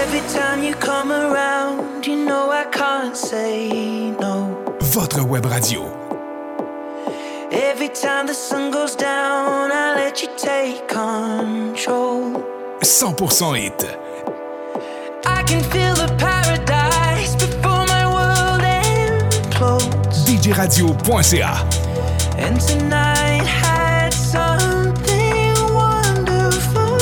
Every time you come around, you know I can't say no. Votre web radio. Every time the sun goes down, I let you take control. 100% hit. I can feel the paradise before my world implodes. DJradio.ca. And tonight had something wonderful.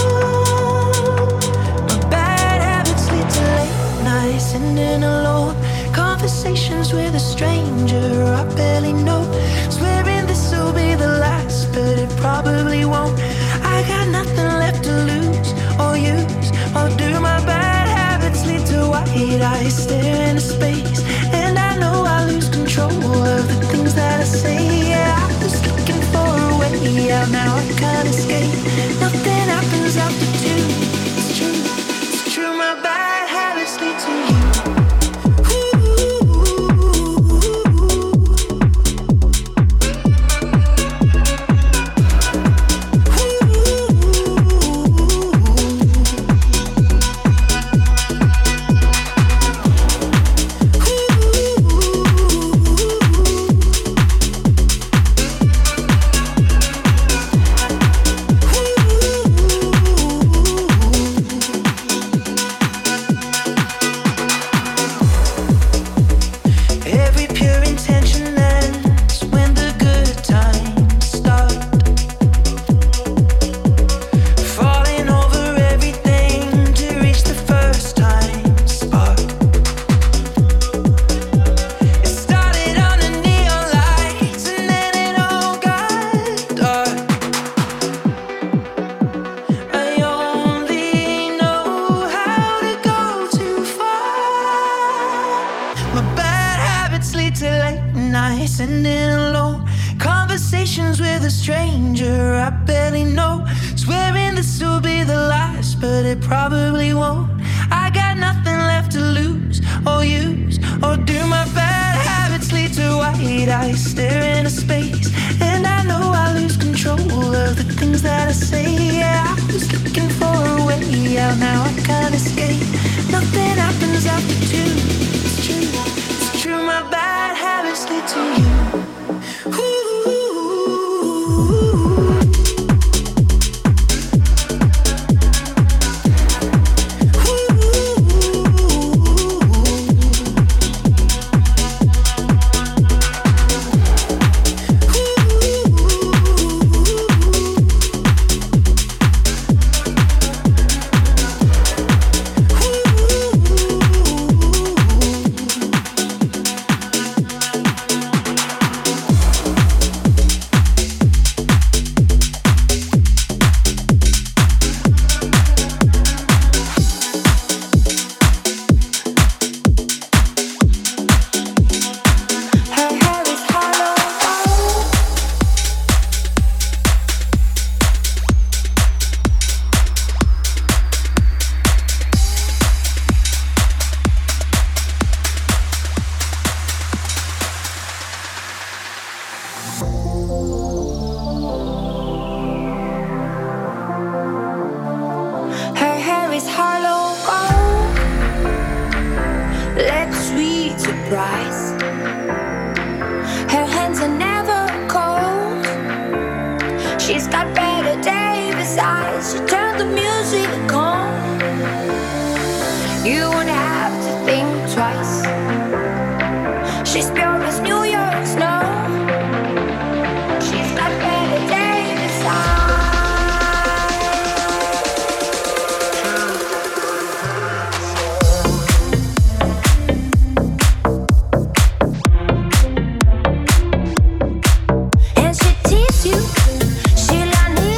My bad habits lead to late nights, sitting alone. Conversations with a stranger I barely know. Swearing this will be the last, but it probably won't. I got nothing left to lose or use or do. My bad habits lead to white eyes stare into space, and I know I lose control of the things that I say. Yeah, I was looking for a way out, now I can't escape. Nothing happens after two. It's true, my bad habits lead to you.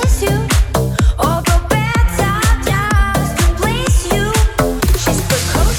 She's precocious.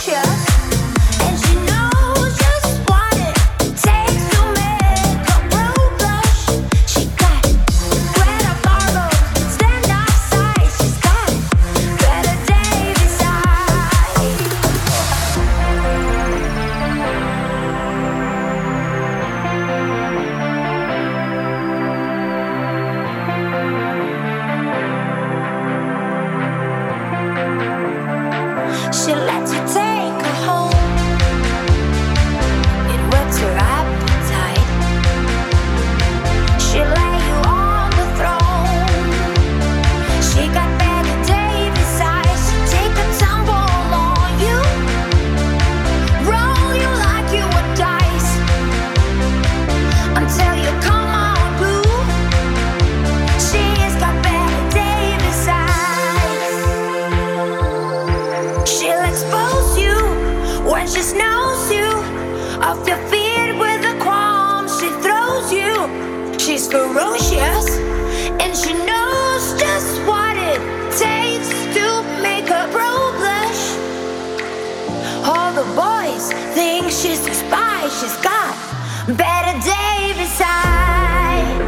off your feet with the crumbs she throws you. She's ferocious and she knows just what it takes to make her pro blush. All the boys think she's a spy. She's got better day beside.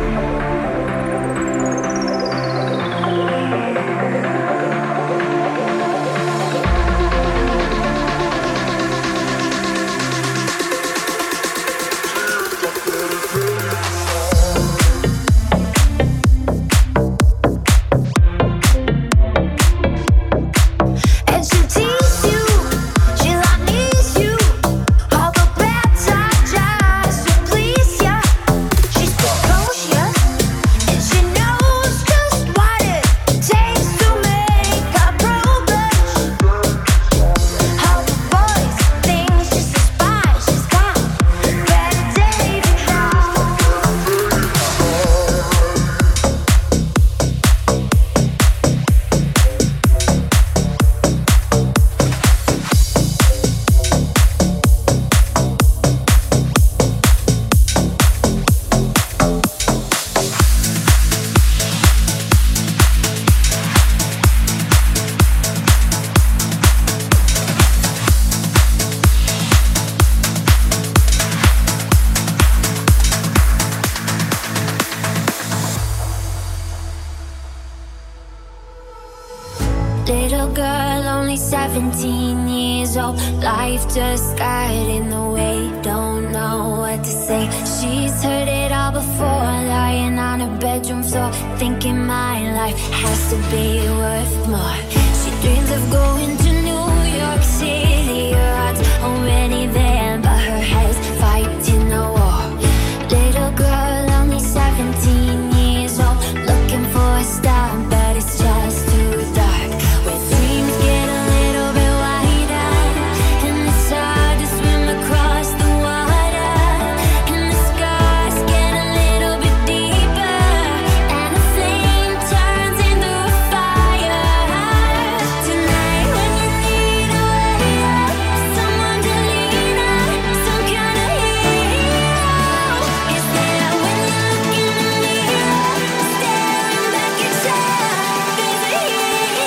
Little girl, only 17 years old. Life just got in the way, don't know what to say. She's heard it all before, lying on her bedroom floor, thinking my life has to be worth more. She dreams of going to New York City. Her heart's already there, but her head's fighting a war. Little girl, only 17 years old, looking for a star, but it's just too dark. Where dreams get a little bit wider, and it's hard to swim across the water, and the scars get a little bit deeper, and the flame turns into a fire. Tonight when you need a way out, someone to lean on, some kind of hero is there. When you look in the mirror, staring back at yourself, there's a hero.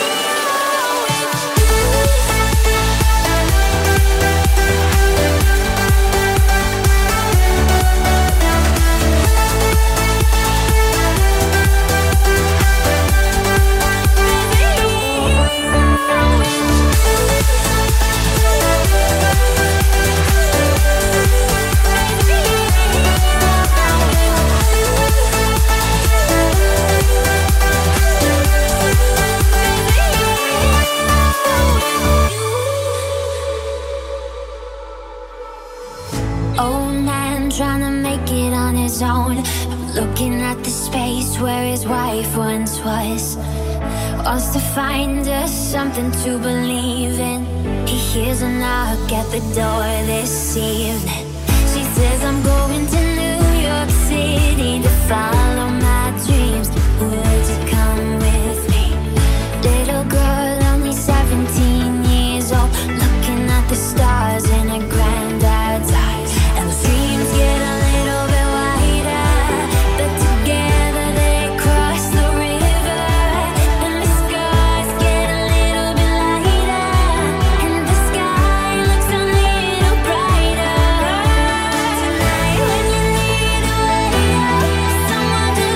Old man trying to make it on his own, looking at the space where his wife once was. Wants to find us something to believe in. He hears a knock at the door this evening. She says, I'm going to New York City to follow my dreams. Would you come with me? Little girl, only 17 years old, looking at the stars in her granddad's eyes. And the dreams get a little bit wider, but together they cross the river. And the scars get a little bit lighter, and the sky looks a little brighter. Tonight when you need a way out, someone to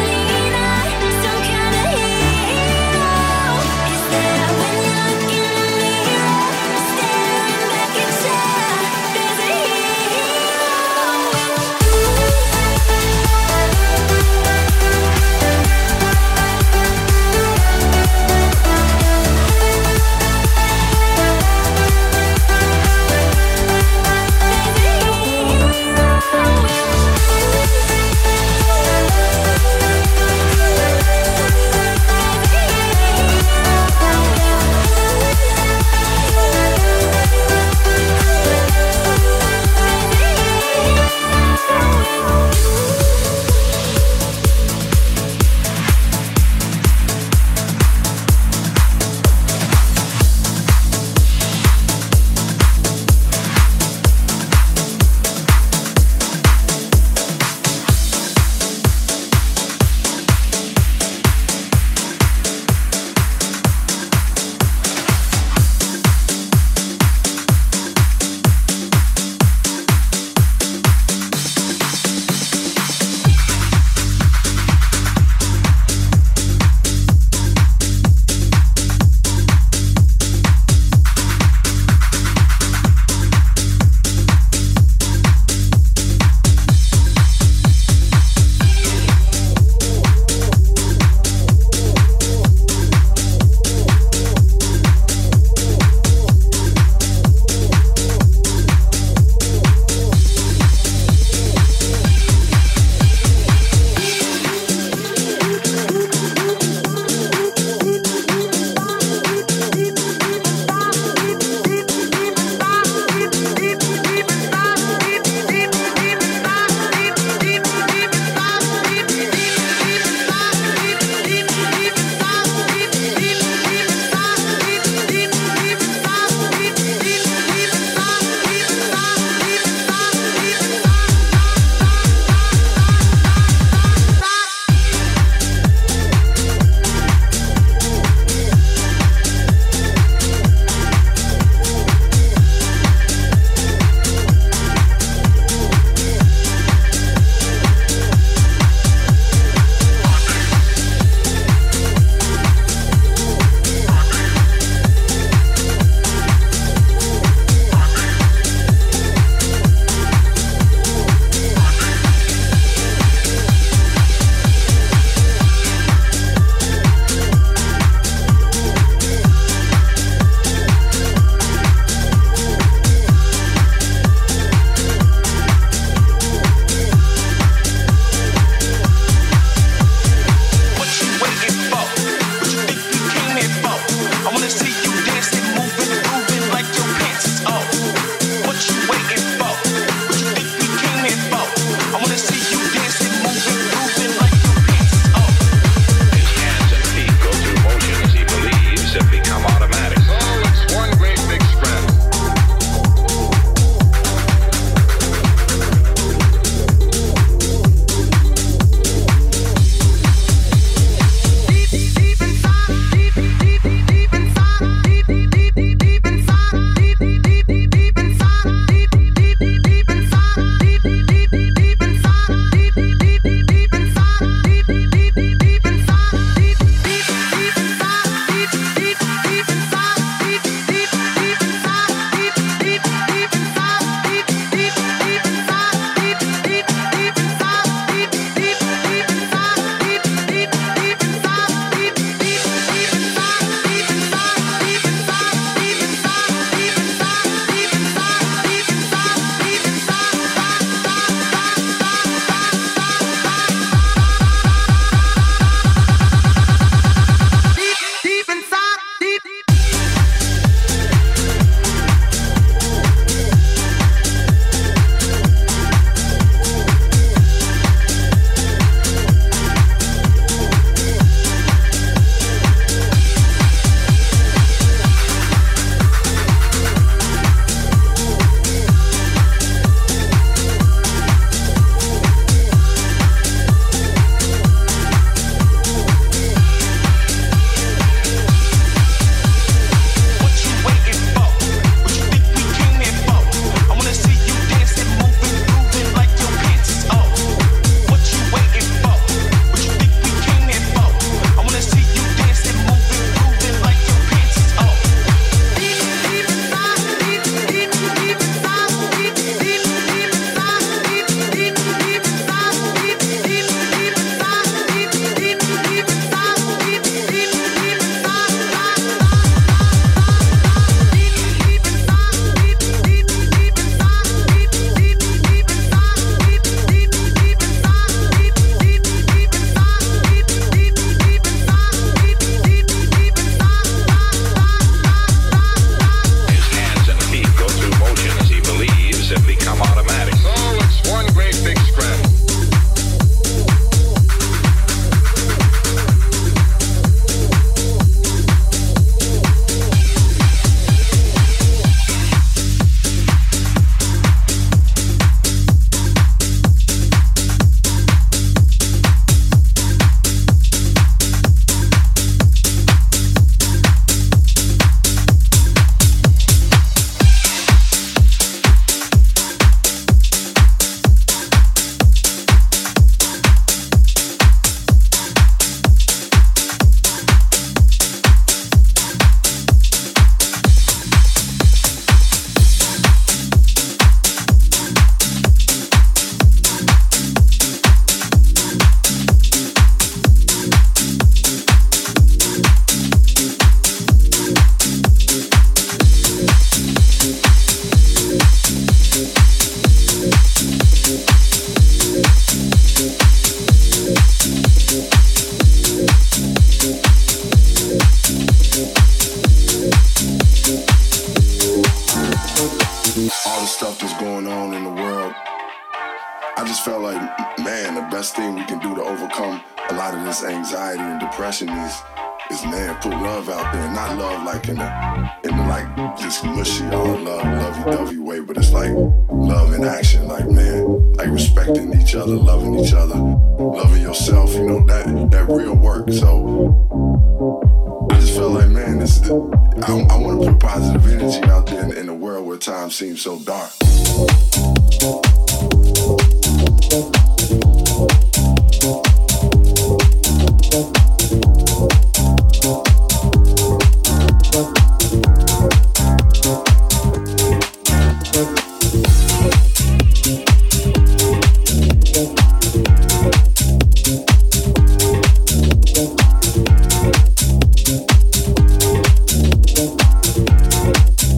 Seems so dark.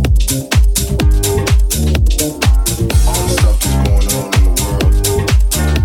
All the stuff that's going on in the world.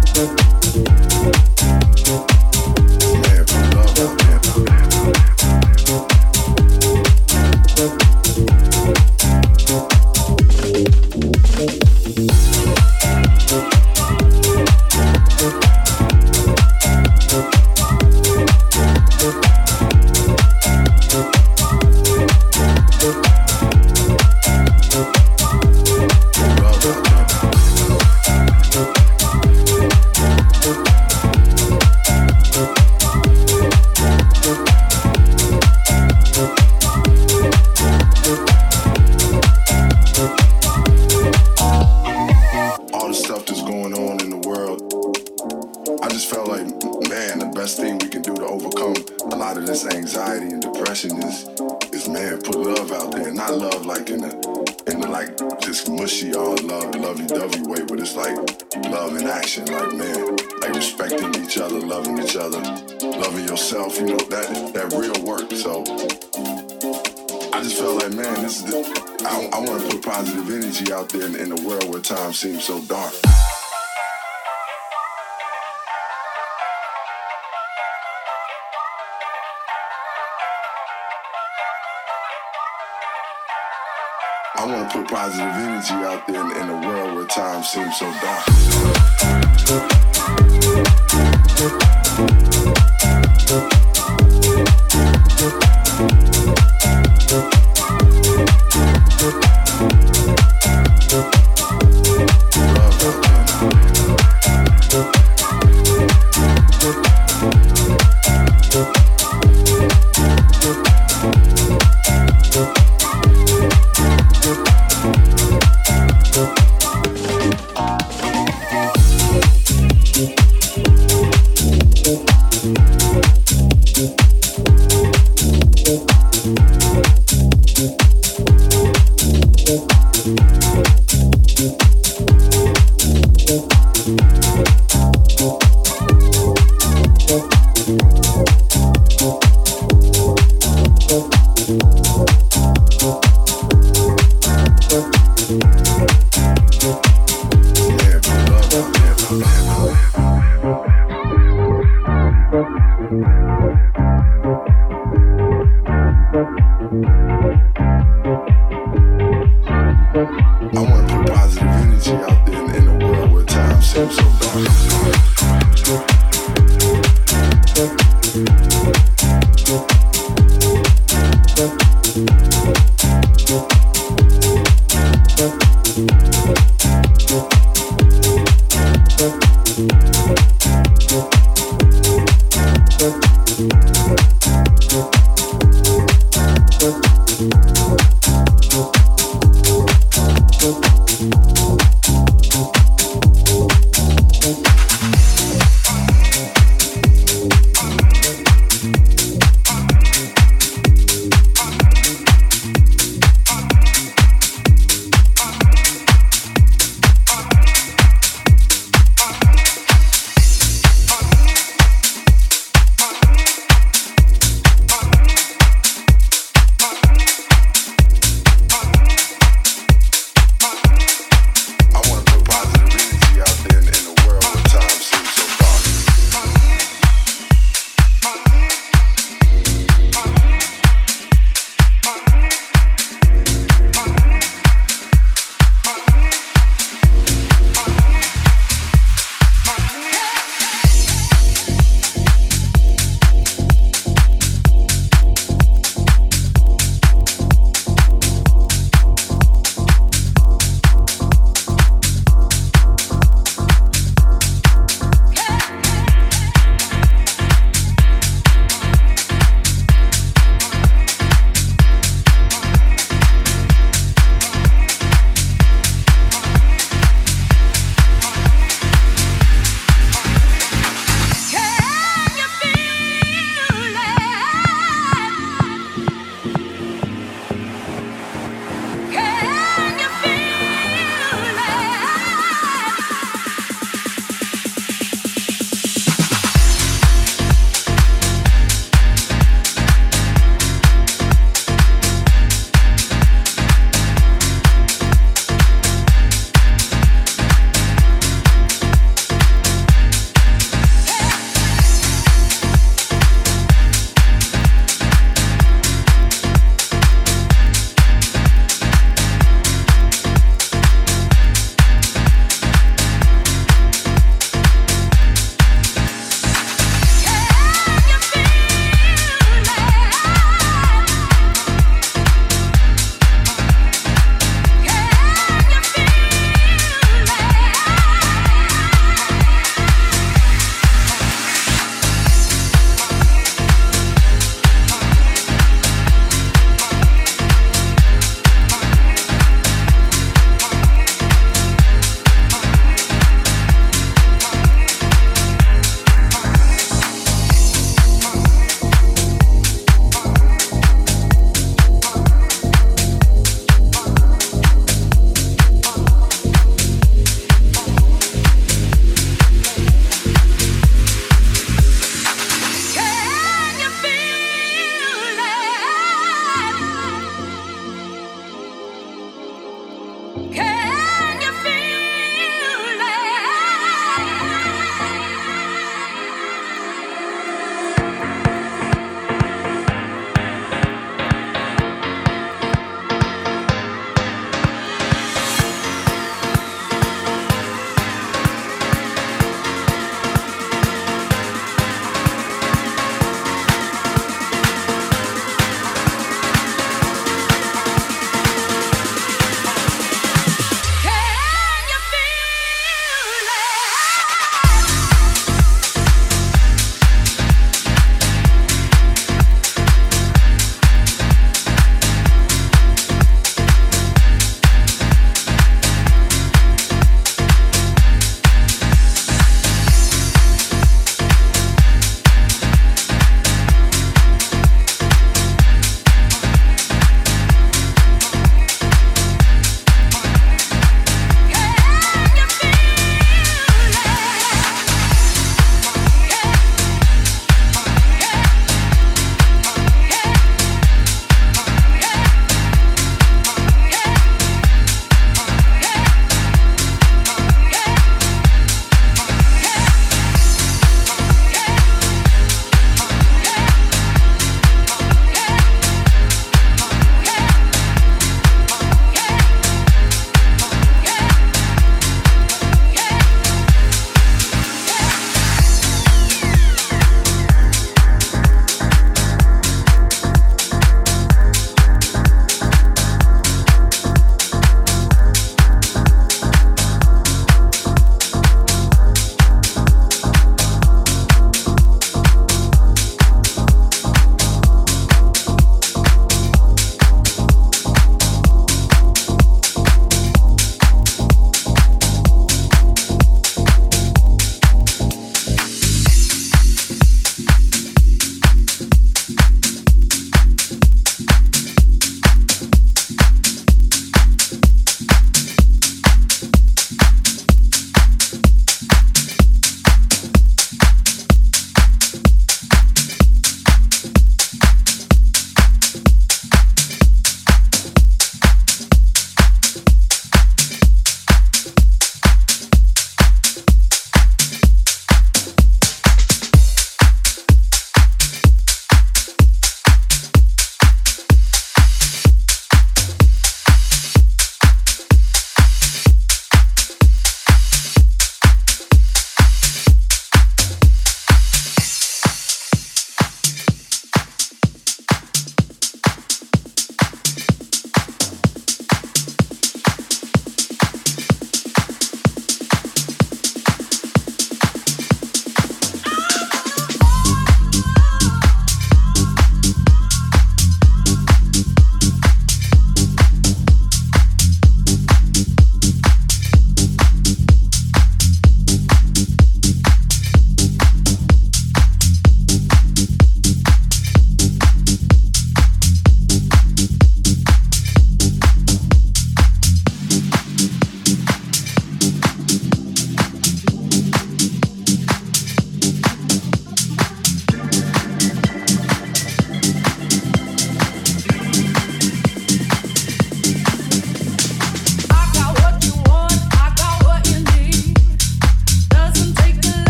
just, man, put love out there. Not love like in the like just mushy all love, lovey-dovey way, but it's like love in action. Like, man, like respecting each other, loving yourself, you know, that real work. So I just felt like, man, this is I want to put positive energy out there in a world where time seems so dark. I want to put positive energy out there in a world where time seems so dark.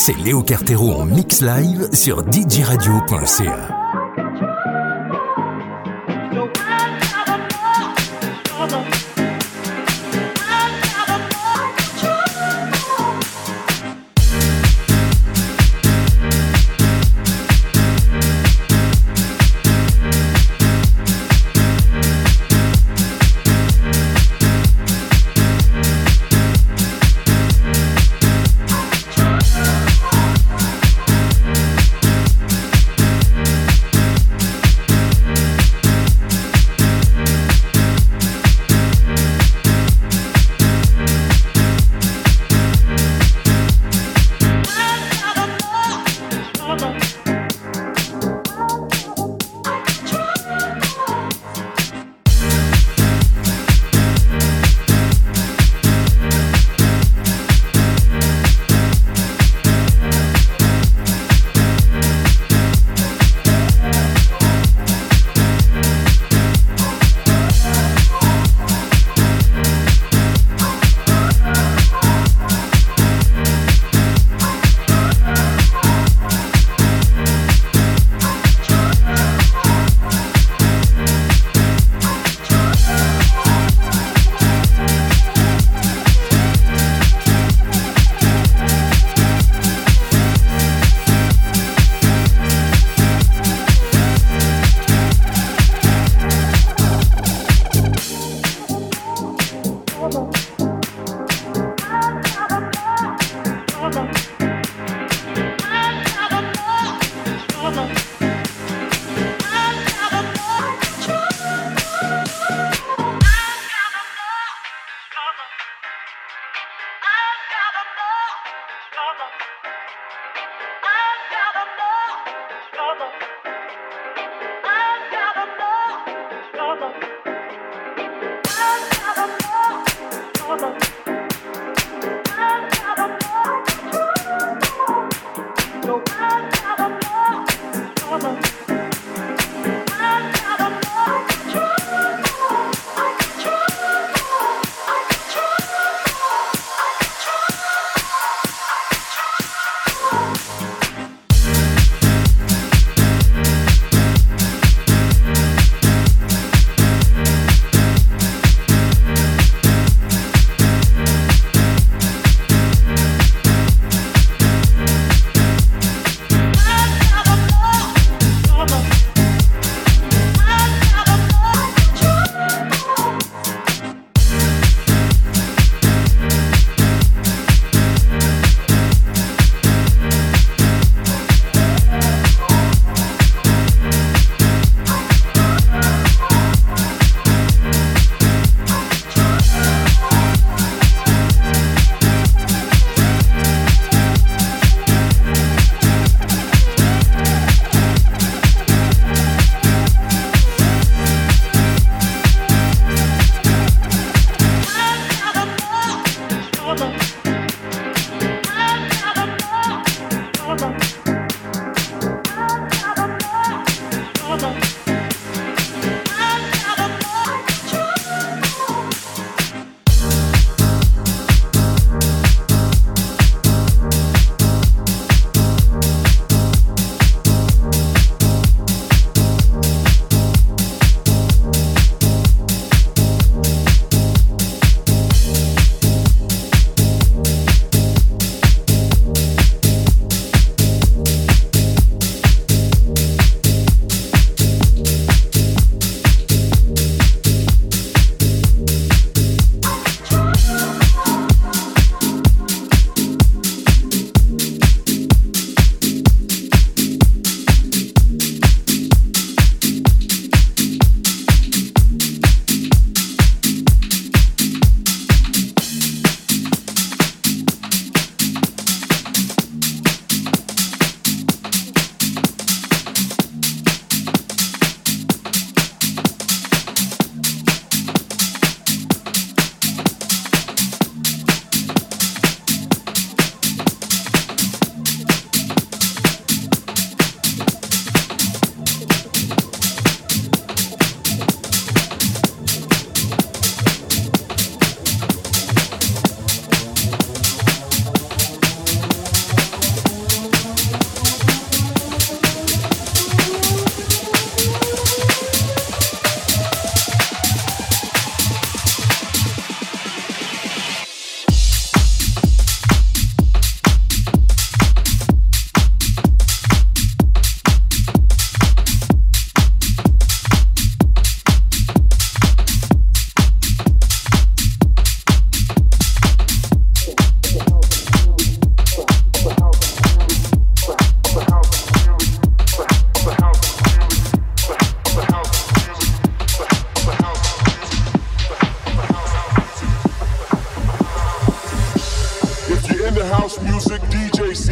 c'est Léo Cartero en mix live sur djradio.ca.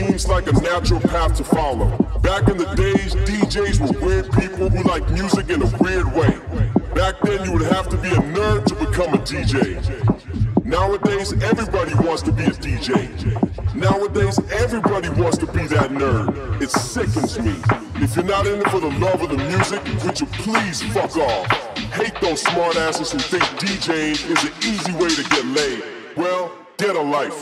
seems like a natural path to follow. Back in the days, DJs were weird people who liked music in a weird way. Back then, you would have to be a nerd to become a DJ. Nowadays, everybody wants to be a DJ. Nowadays, everybody wants to be that nerd. It sickens me. If you're not in it for the love of the music, would you please fuck off? Hate those smartasses who think DJing is an easy way to get laid. Well, get a life.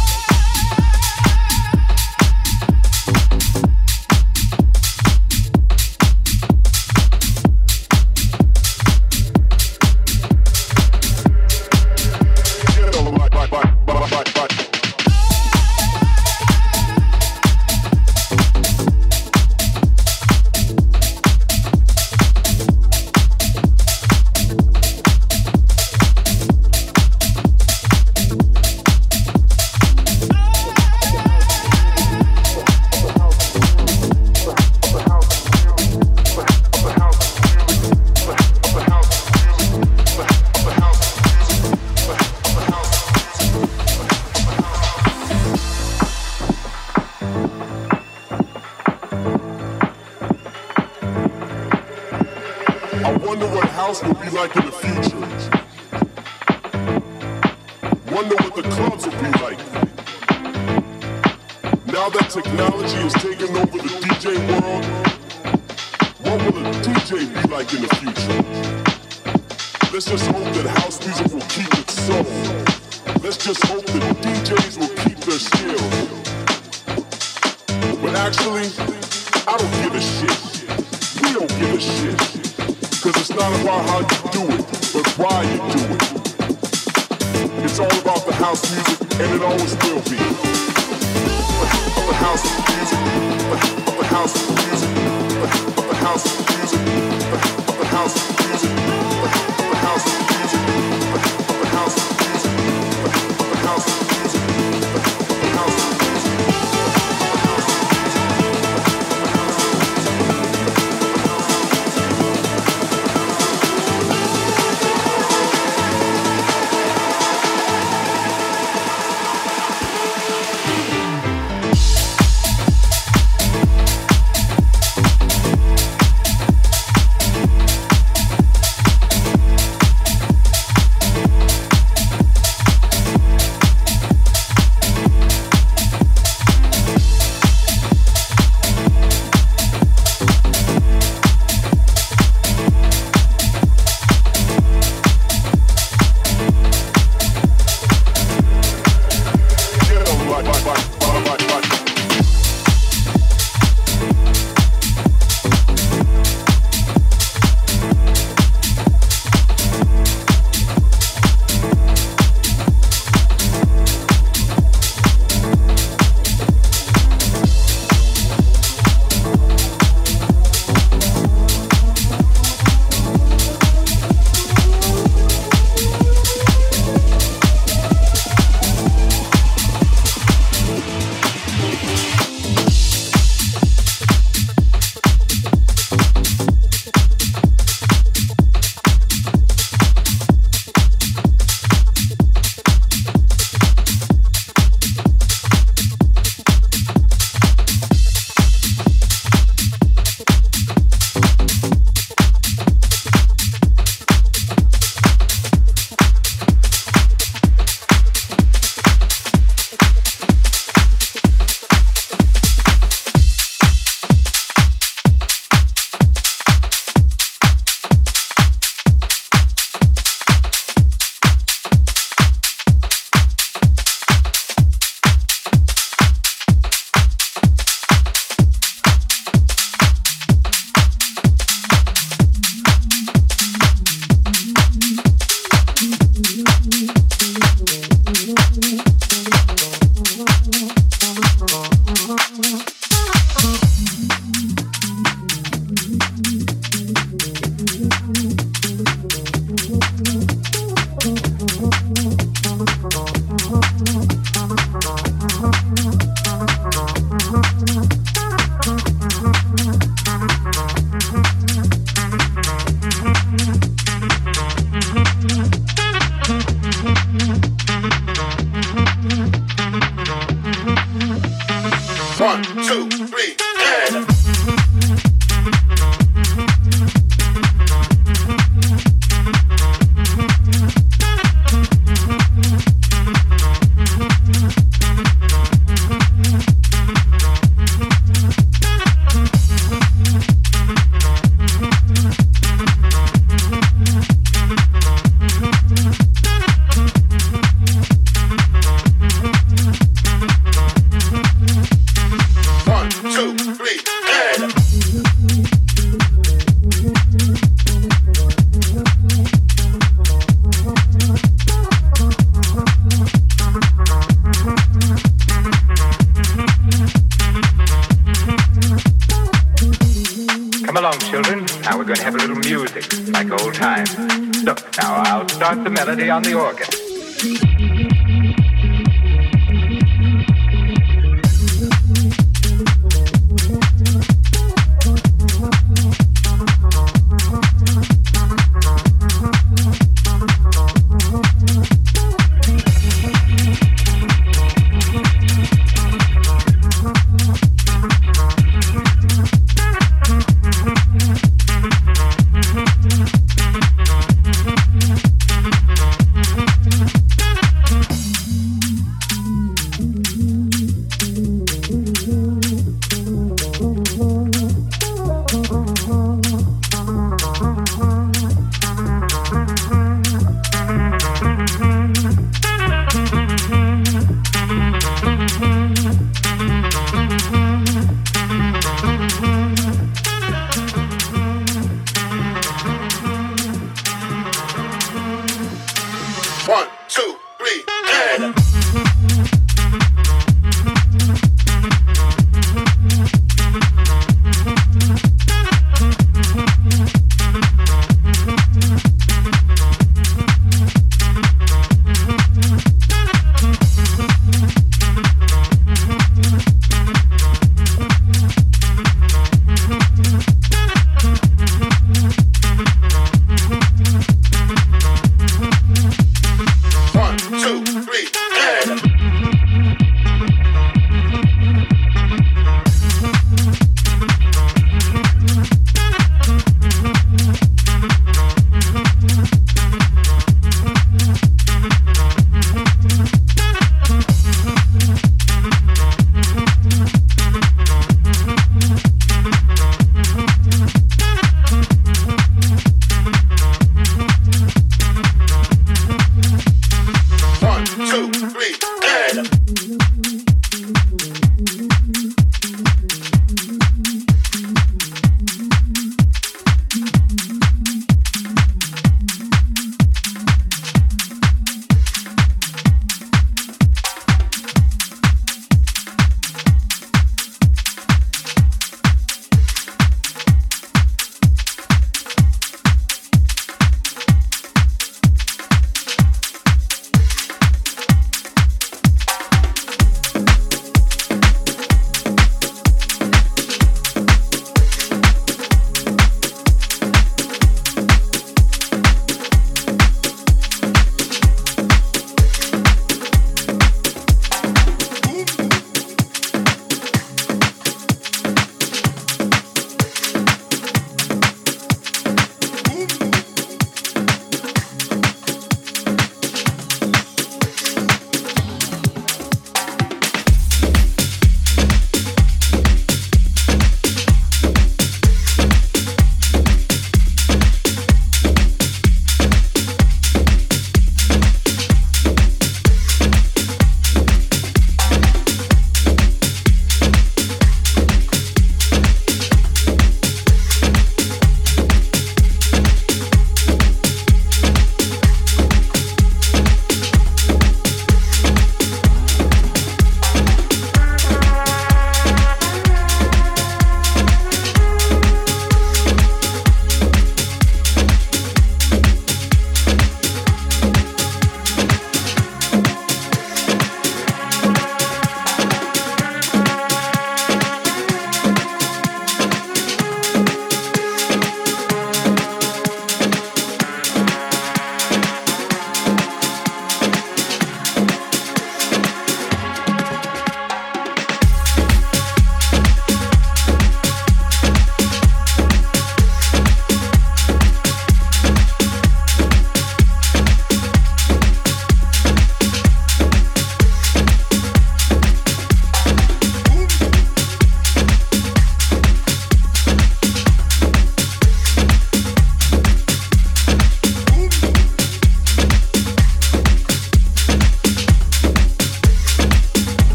Will be like in the future. Wonder what the clubs will be like. Now that technology has taken over the DJ world, what will a DJ be like in the future? Let's just hope that house music will keep its soul. Let's just hope that DJs will keep their skills. But actually, I don't give a shit. We don't give a shit. Cause it's not about how you do it, but why you do it. It's all about the house music, and it always will be. The house music, the house music, the house music, the house music, the house music, the house music, the house music, the house music. Look, now I'll start the melody on the organ.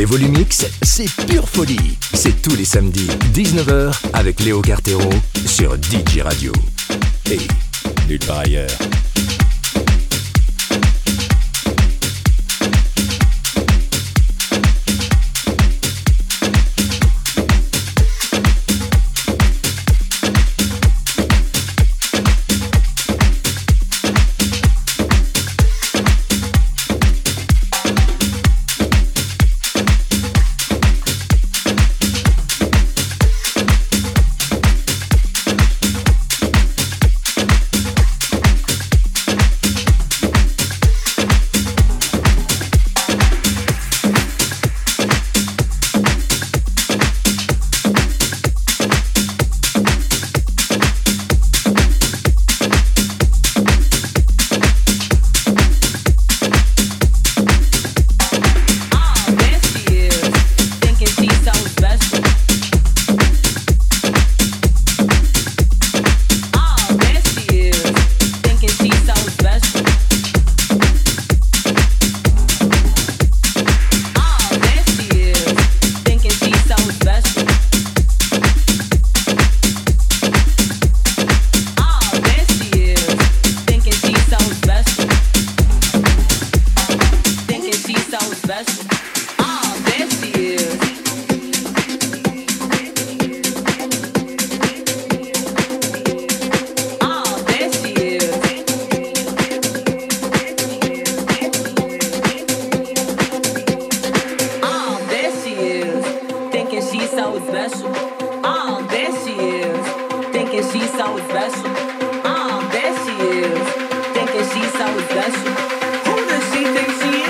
Volumix, c'est pure folie. C'est tous les samedis, 19h, avec Léo Cartero sur DJ Radio. Et nulle part ailleurs. There she is, thinking she's so special. Who does she think she is?